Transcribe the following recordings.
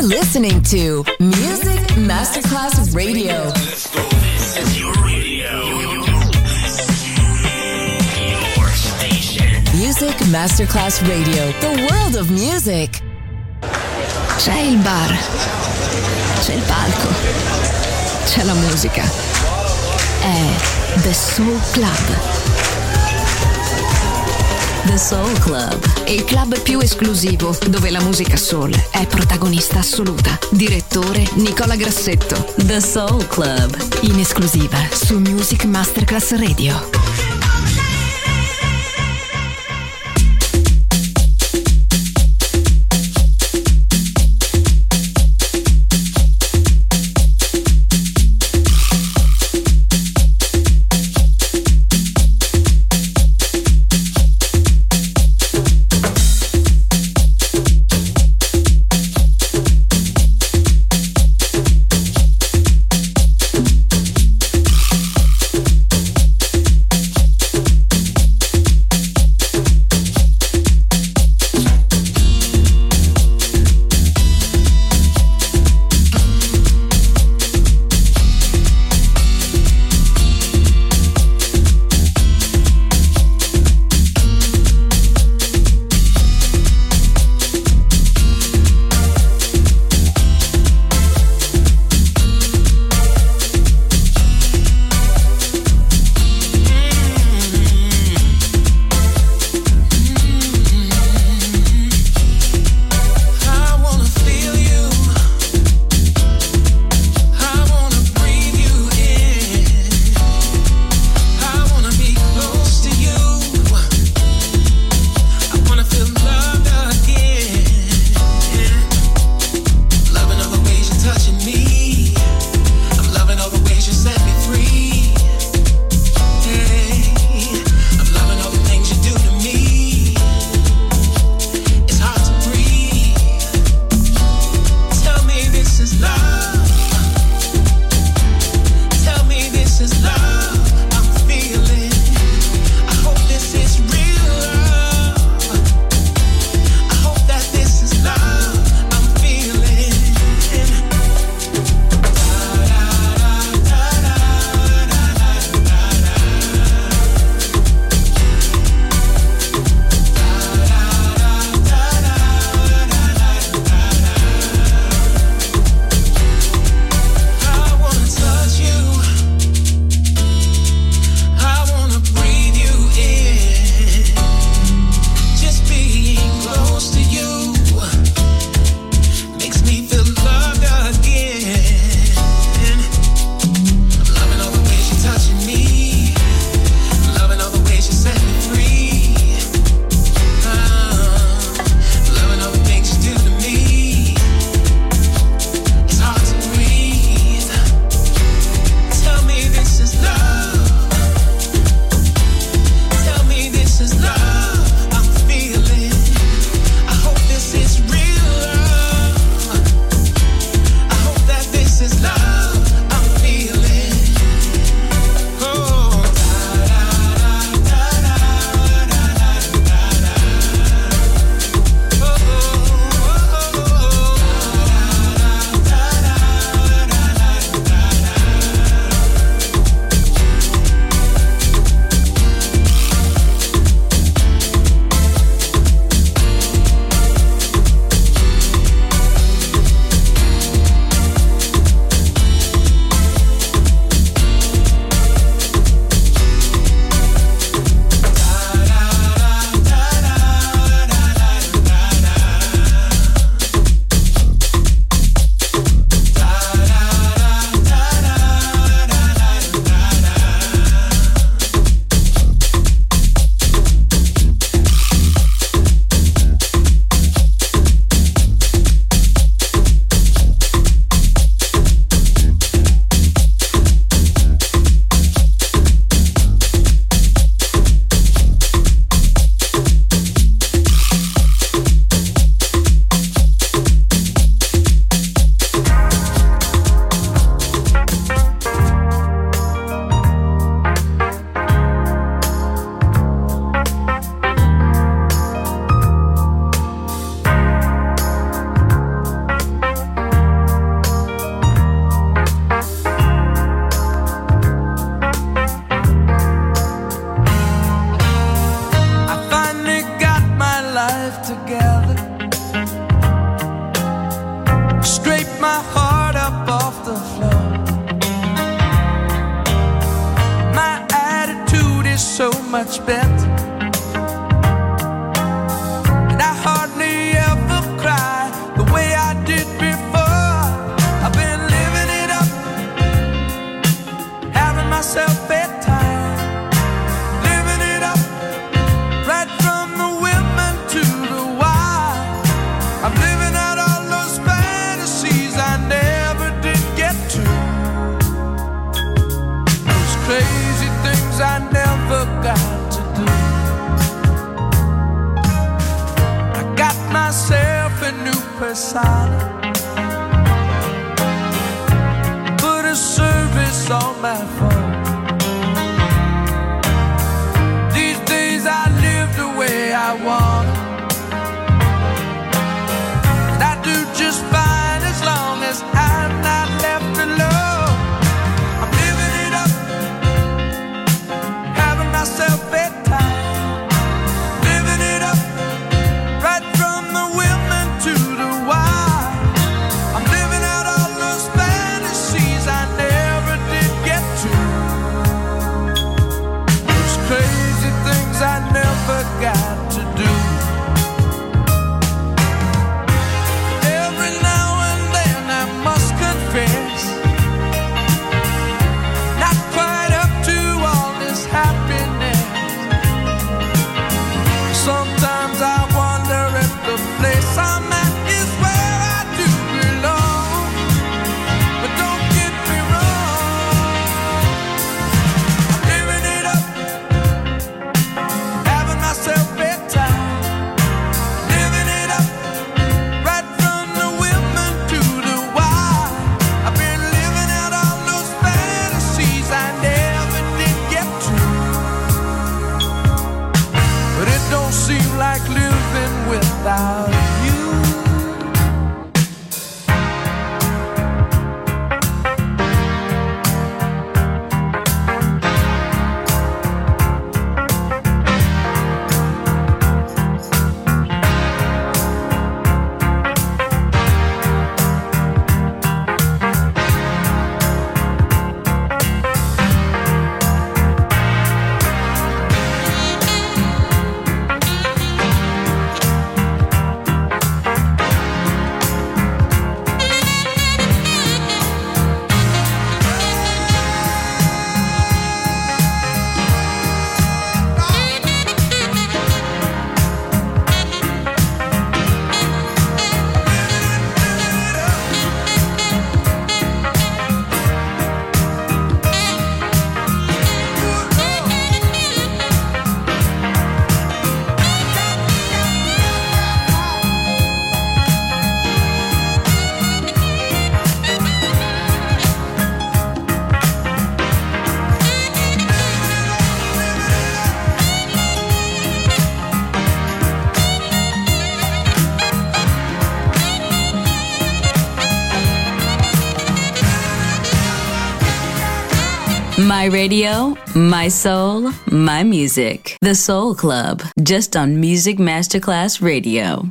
You're listening to Music Masterclass Radio. Let's go. This is your radio. Your station. Music Masterclass Radio. The world of music. C'è il bar. C'è il palco. C'è la musica. È The Soul Club. The Soul Club. Il club più esclusivo dove la musica soul è protagonista assoluta. Direttore Nicola Grassetto. The Soul Club. In esclusiva su Music Masterclass Radio. much better. And I hardly ever cry the way I did before. I've been living it up, having myself bedtime, living it up, right from the women to the wild. I'm living out all those fantasies I never did get to, those crazy things I never got to do. I got myself a new persona, put a service on my phone. These days I live the way I want, and I do just fine as long as I'm not left alone. I'm living it up, having myself bedtime, living it up, right from the women to the wild. I'm living out all those fantasies I never did get to, those crazy things I never got to do. Every now and then I must confess, not quite up to all this happiness. Sometimes I wonder if the place I'm at is where I do belong. But don't get me wrong, I'm living it up, having myself bedtime, living it up, right from the women to the wild. I've been living out all those fantasies I never did get to, but it don't seem like living without you. My radio, my soul, my music. The Soul Club, just on Music Masterclass Radio.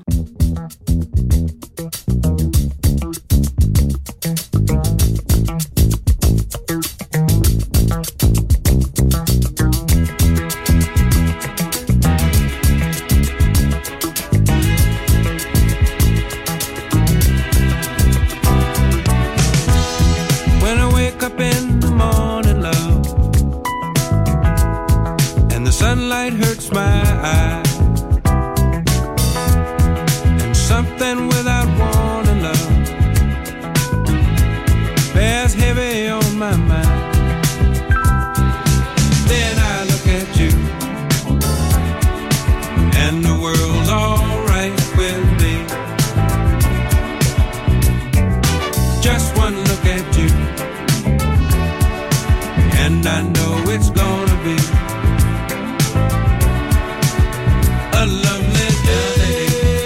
When I wake up in the morning, love, and the sunlight hurts my eyes, and something without warning, love, bears heavy on my mind. Then I look at you, and the world's alright with me. Just one look at you, and I know it's gonna be a lovely day.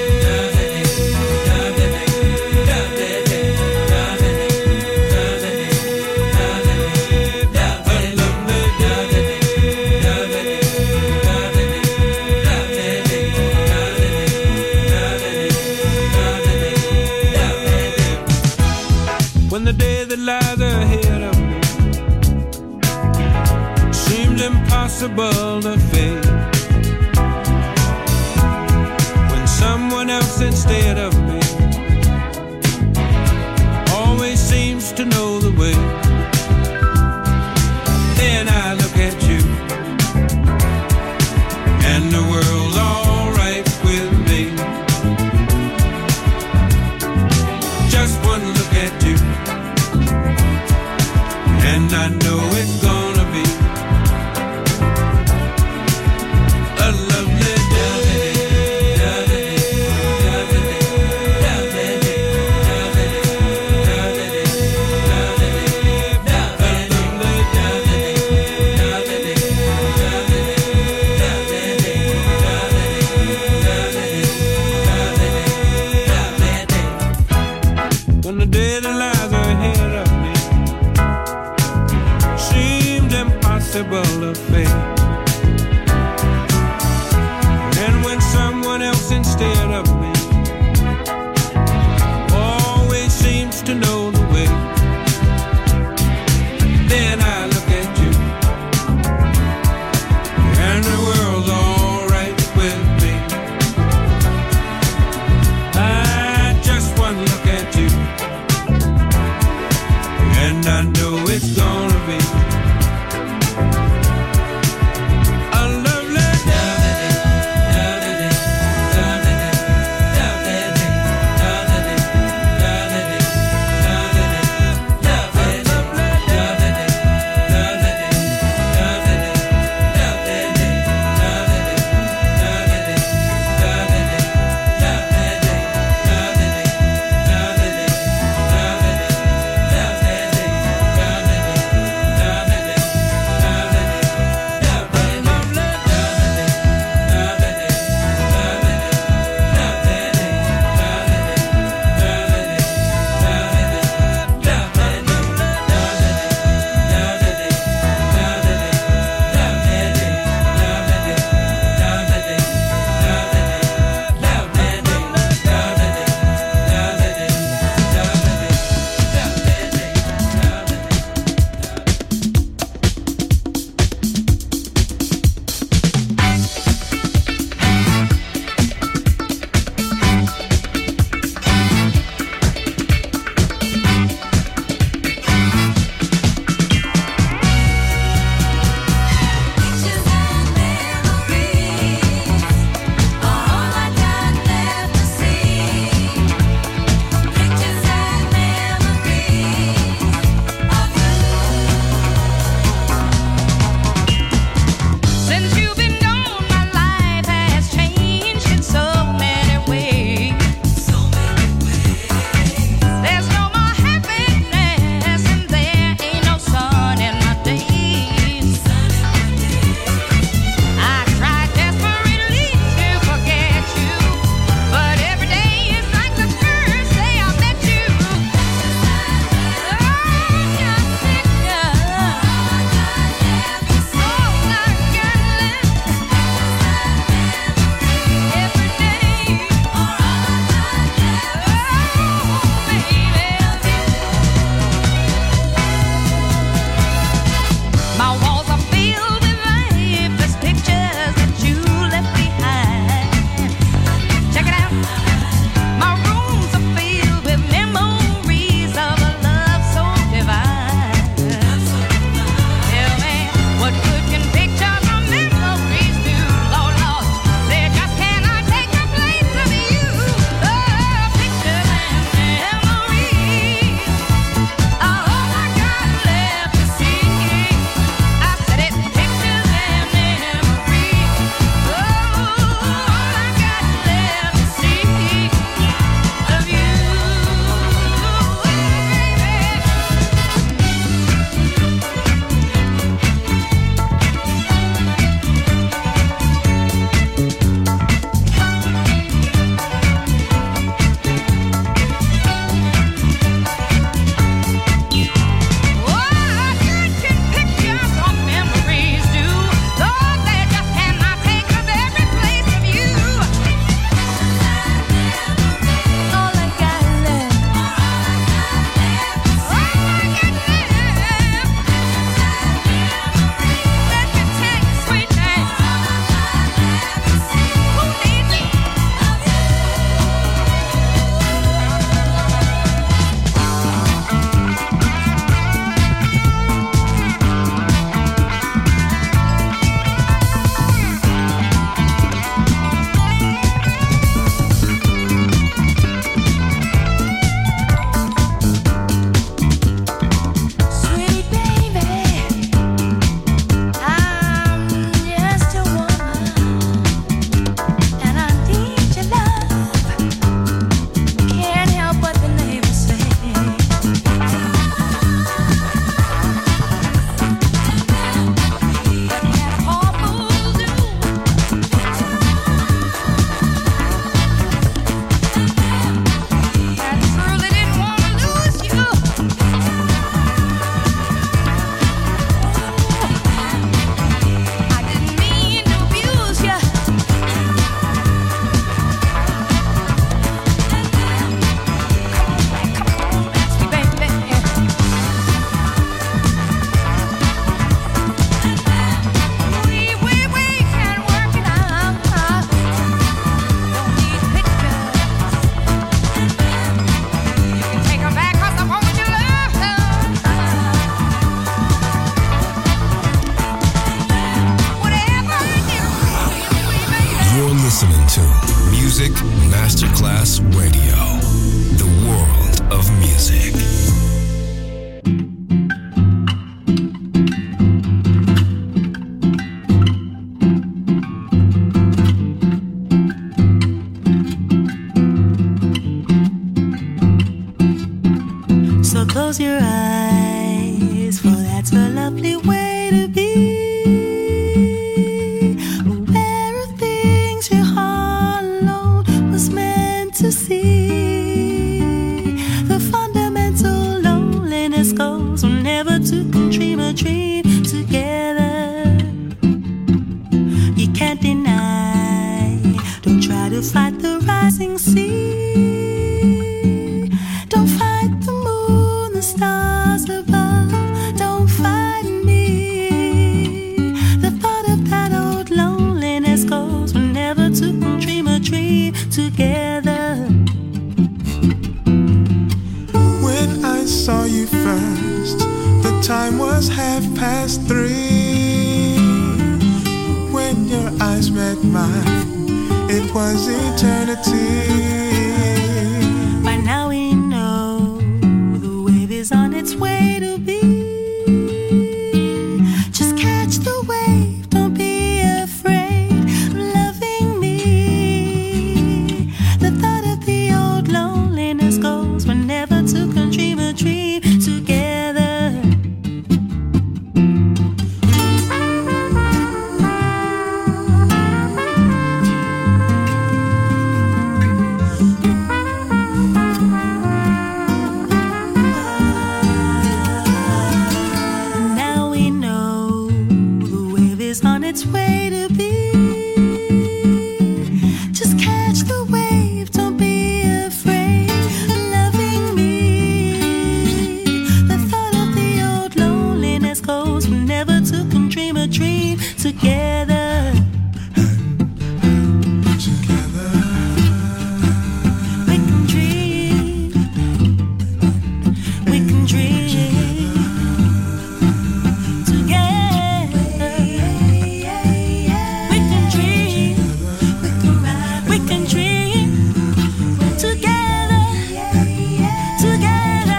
When the day that lies ahead of me seems impossible impossible to fake. When someone else instead of me always seems to know the way, then I look at you and the world's all right with me. Just one look at you and I know it's gonna be a lovely when the day that lies ahead of me seems impossible to face. And when someone else instead of me always seems to know the way, then I look at you and the world's all right with me. I just one look at you close your eyes, for that's a lovely way to be. Aware of things your heart alone was meant to see. The fundamental loneliness goes whenever two can dream a dream together. You can't deny, don't try to fight the rising sea. Don't fight the moon, the stars above, don't fight me. The thought of that old loneliness goes whenever two can dream a dream together. When I saw you first, the time was 3:30. When your eyes met mine, it was eternity. By now we know the wave is on its way to be. Just catch the wave, don't be afraid of loving me. The thought of the old loneliness goes whenever two can dream a dream together. Now we know the wave is on its way to be. Just catch the wave, don't be afraid of loving me. The thought of the old loneliness goes whenever two can dream a dream together. Together, We can dream. We can dream together. We can dream. We can dream together. Together.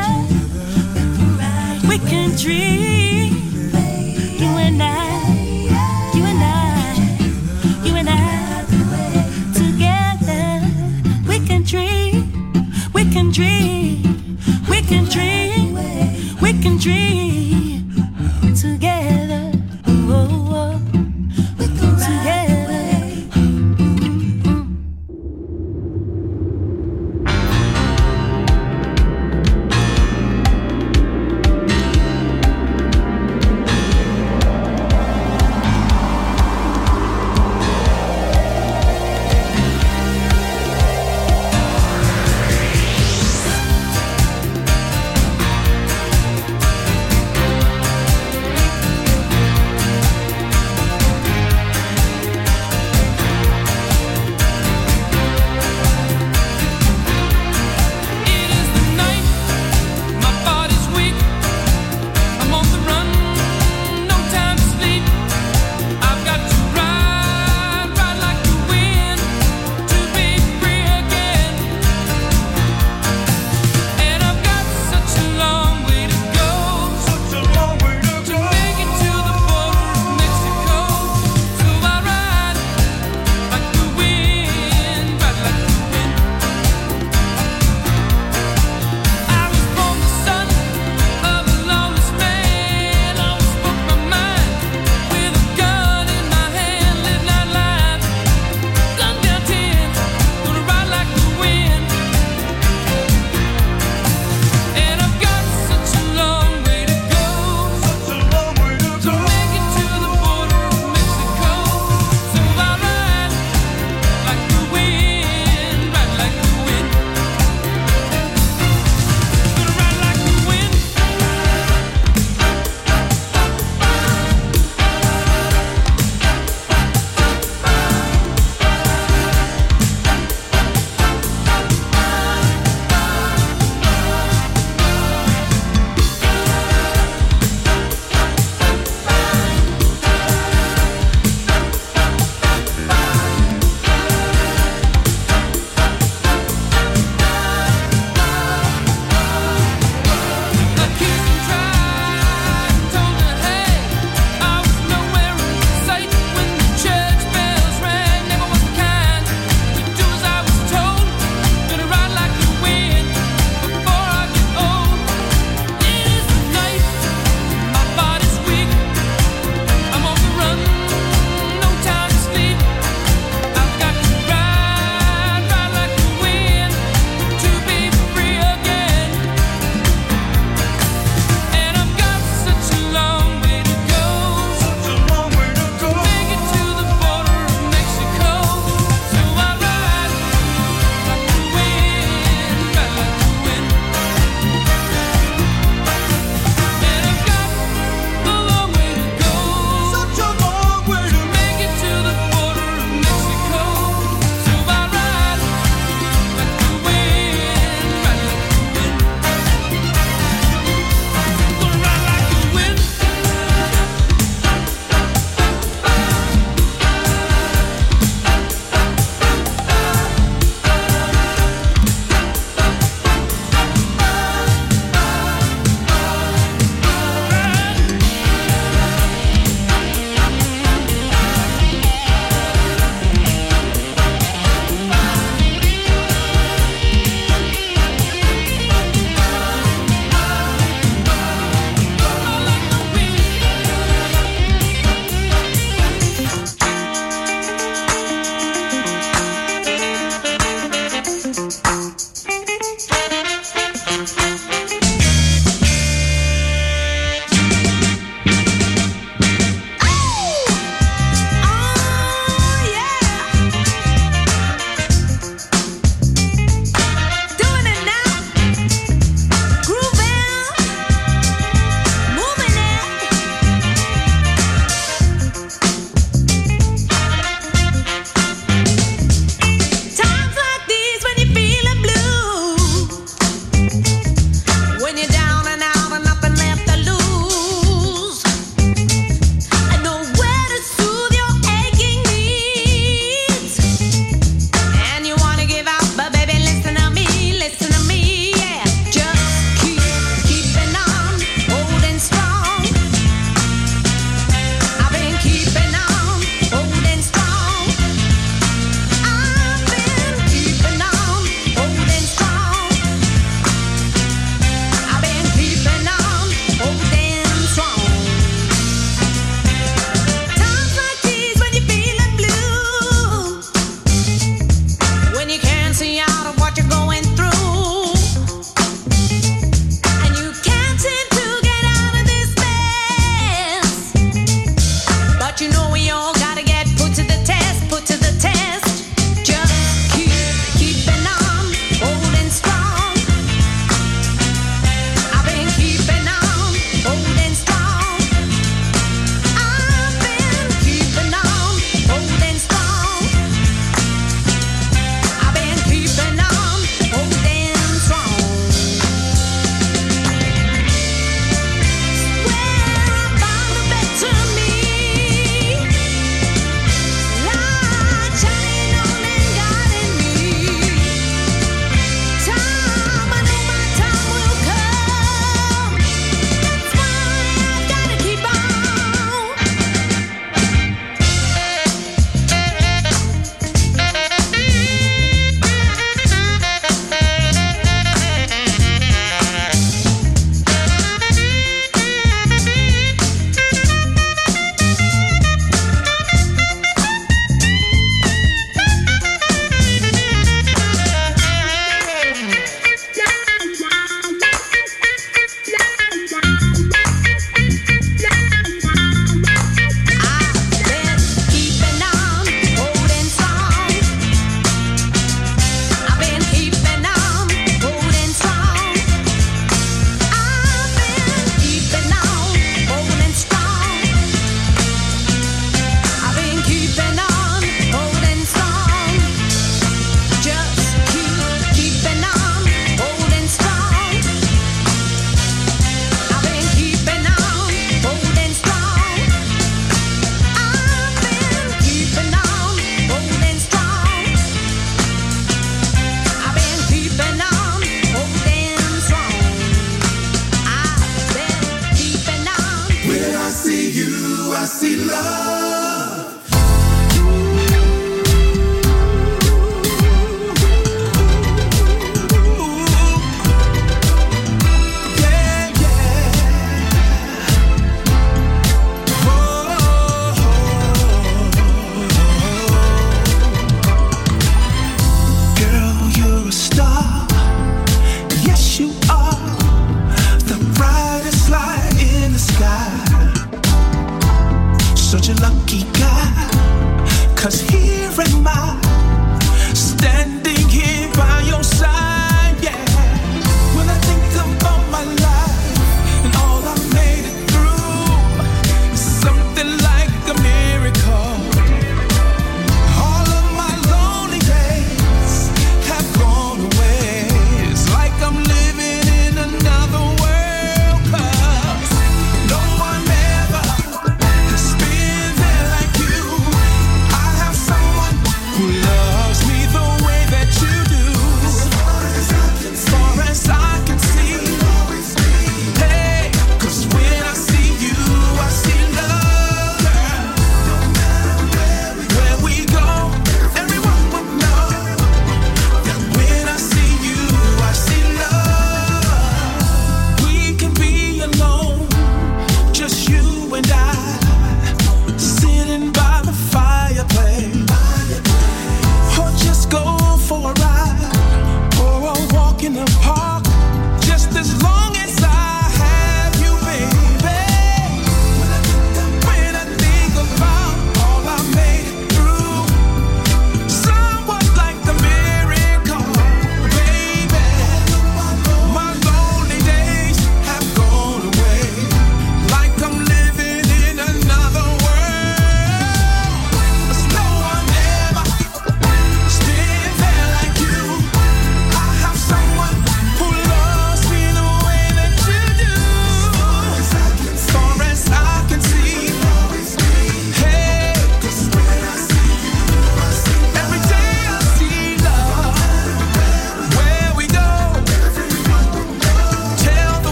We can dream. You and I. You and I. You and I. Together. We can dream. We can dream. We can dream. We can dream together. Oh, oh, oh. Together.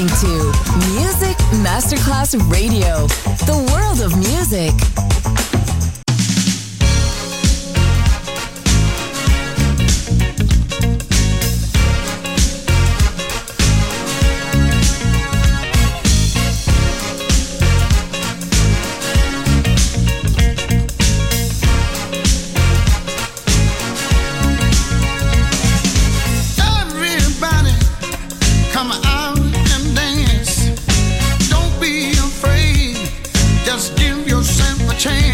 listening to Music Masterclass Radio, the world of music. Change.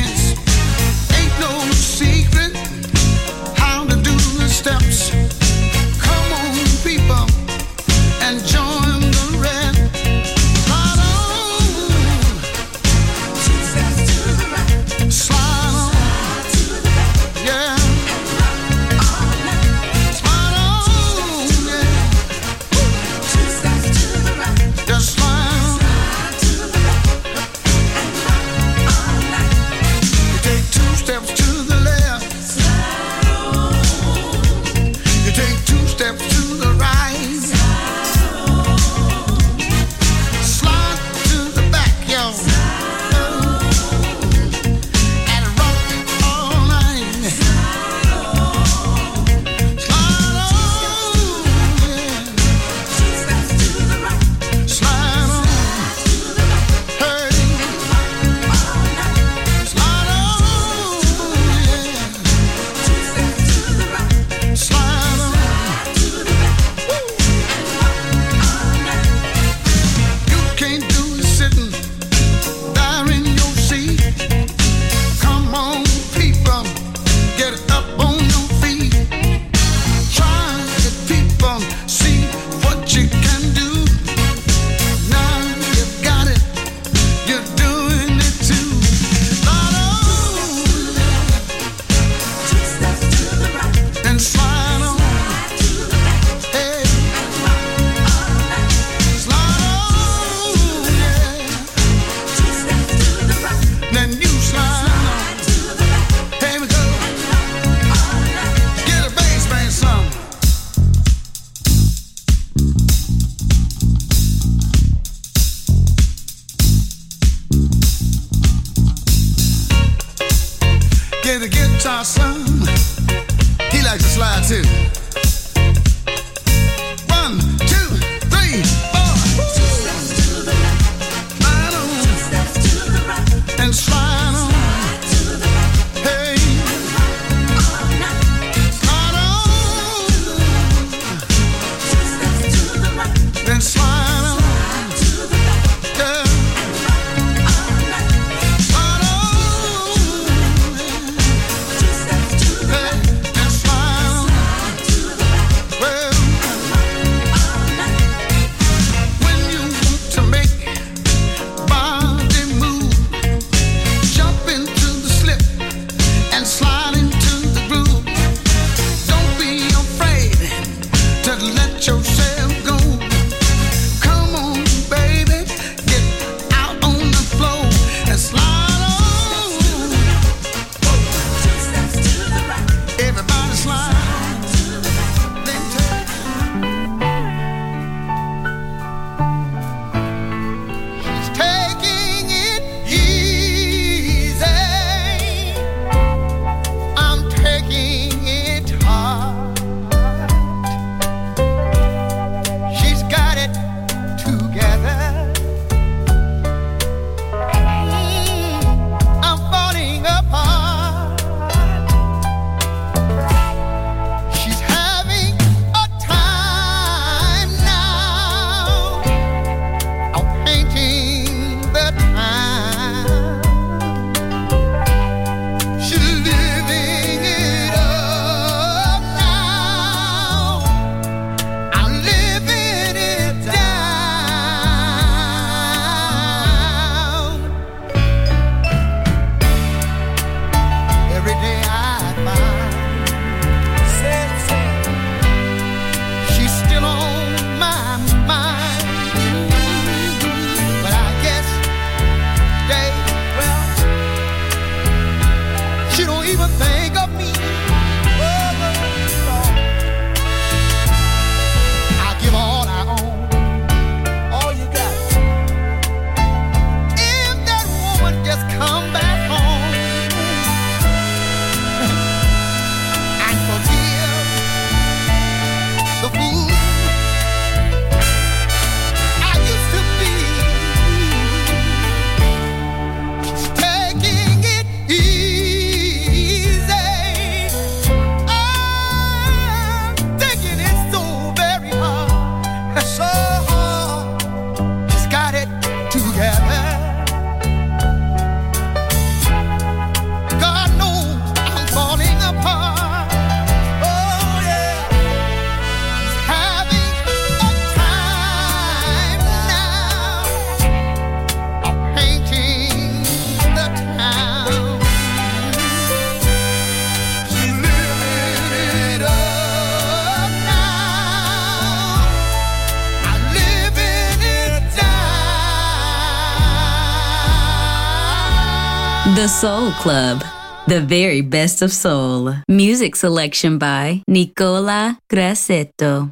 The Soul Club, the very best of soul. Music selection by Nicola Grassetto.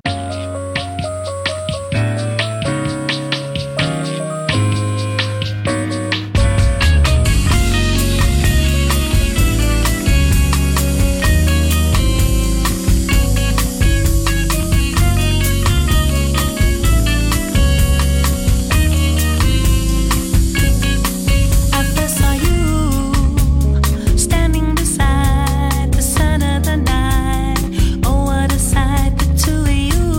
Beside the sun of the night, oh what a sight, the two of you.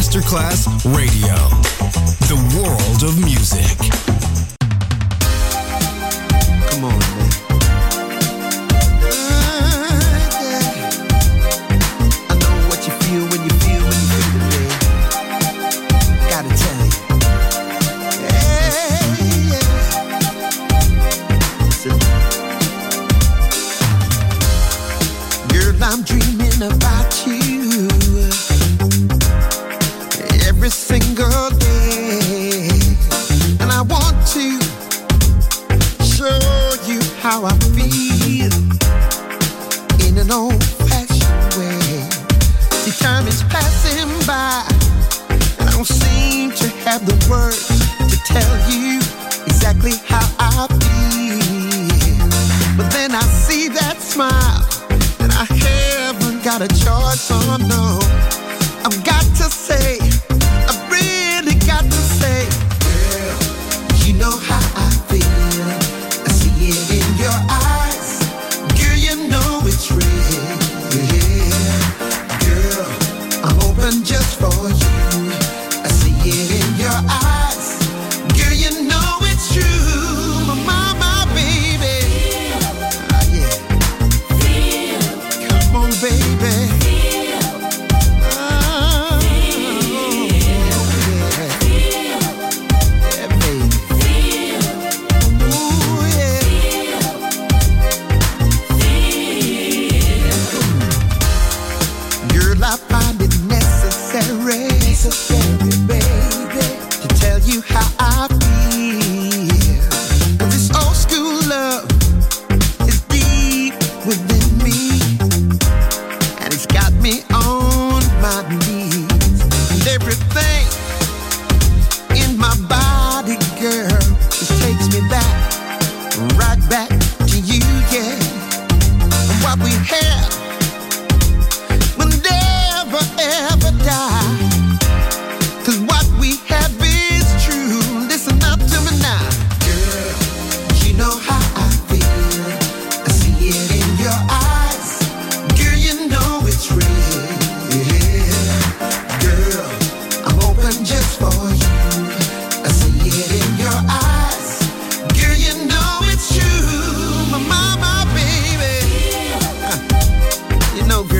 Masterclass Radio. The world of music. Come on, man. I know what you feel when you feel it, man. Gotta tell you. Girl, I'm dreaming about you every single day, and I want to show you how I feel in an old-fashioned way. See, time is passing by, and I don't seem to have the words to tell you exactly how I feel. But then I see that smile, and I haven't got a choice, oh no. I've got to say, I've really got to say, girl, you know how I feel. I see it in your eyes. Girl, you know it's real. Girl, I'm open just for you. I see it in your eyes. Girl, you know it's true. My baby. Ah, yeah. Come on, baby. I find it necessary, baby, to tell you how I feel. 'Cause this old school love is deep within me, and it's got me on my knees. And everything in my body, girl, just takes me back, right back to you, yeah. And what we have ever die. 'Cause what we have is true. Listen up to me now. Girl, you know how I feel. I see it in your eyes. Girl, you know it's real. Girl, I'm open just for you. I see it in your eyes. Girl, you know it's true. My baby. You know, girl.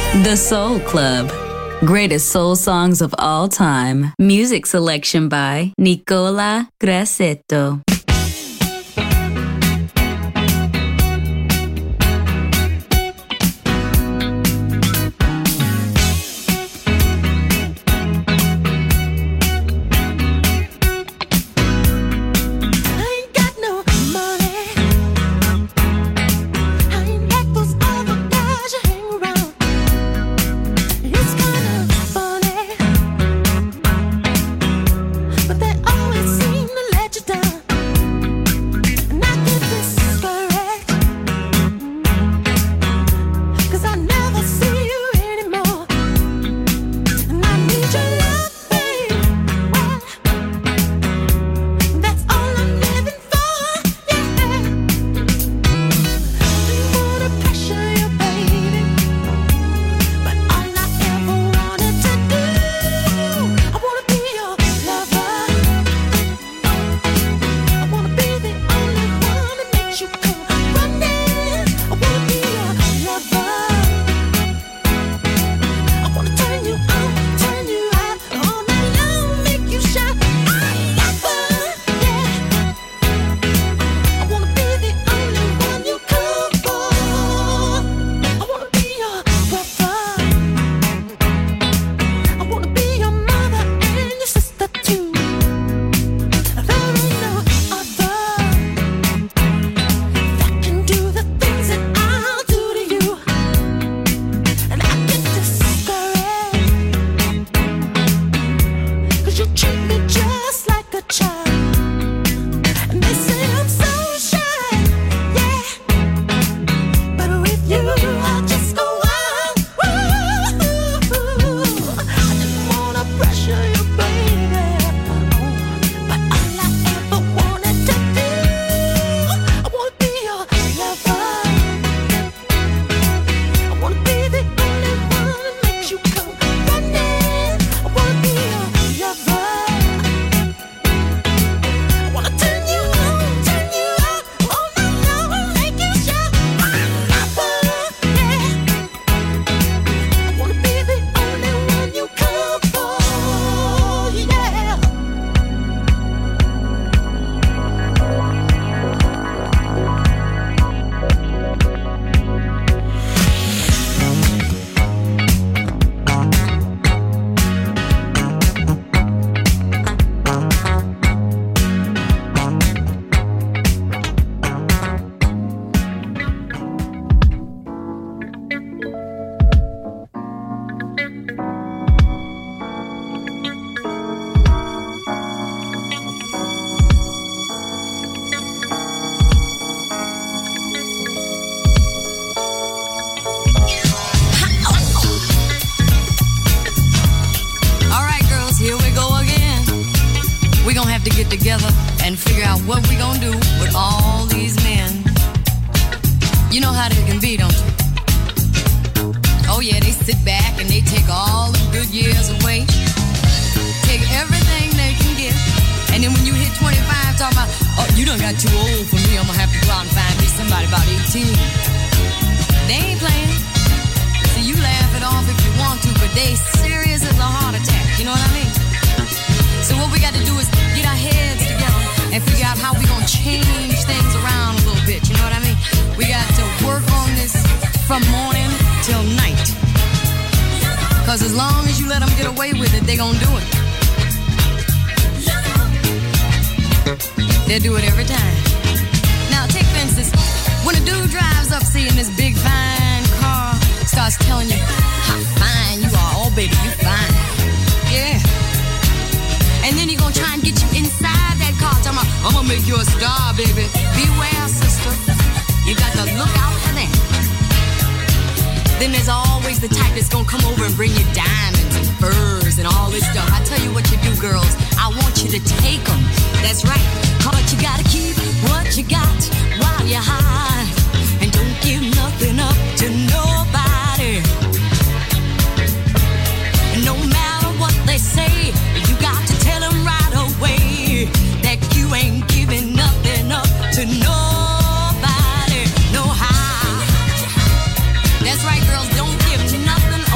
The Soul Club. Greatest soul songs of all time. Music selection by Nicola Grassetto. Together and figure out what we gonna do with all these men. You know how they can be, don't you? Oh yeah, they sit back and they take all the good years away, take everything they can get, and then when you hit 25, talk about, oh, you done got too old for me, I'm gonna have to go out and find me somebody about 18. They ain't playing. So you laugh it off if you want to, but they serious as a heart attack, you know what I mean? So what we got to do is get our heads together and figure out how we gonna change things around a little bit, you know what I mean? We got to work on this from morning till night. Cause as long as you let them get away with it, they gonna do it. They'll do it every time. Now take for instance, when a dude drives up seeing this big fine car, starts telling you how fine you are, oh baby, you fine. Yeah. And then he gonna try and get you inside that car, talking about, I'm gonna make you a star, baby. Beware, sister. You got to look out for that. Then there's always the type that's gonna come over and bring you diamonds and furs and all this stuff. I tell you what you do, girls. I want you to take them. That's right. But you gotta keep what you got while you're high. And don't give nothing up to nobody. And no matter what they say, you got to tell them right away that you ain't giving nothing up to nobody. No how. That's right, girls, don't give nothing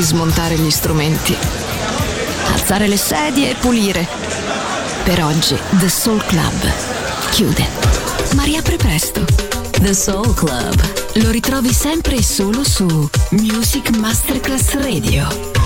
smontare gli strumenti, alzare le sedie e pulire. Per oggi The Soul Club chiude, ma riapre presto. The Soul Club. Lo ritrovi sempre e solo su Music Masterclass Radio.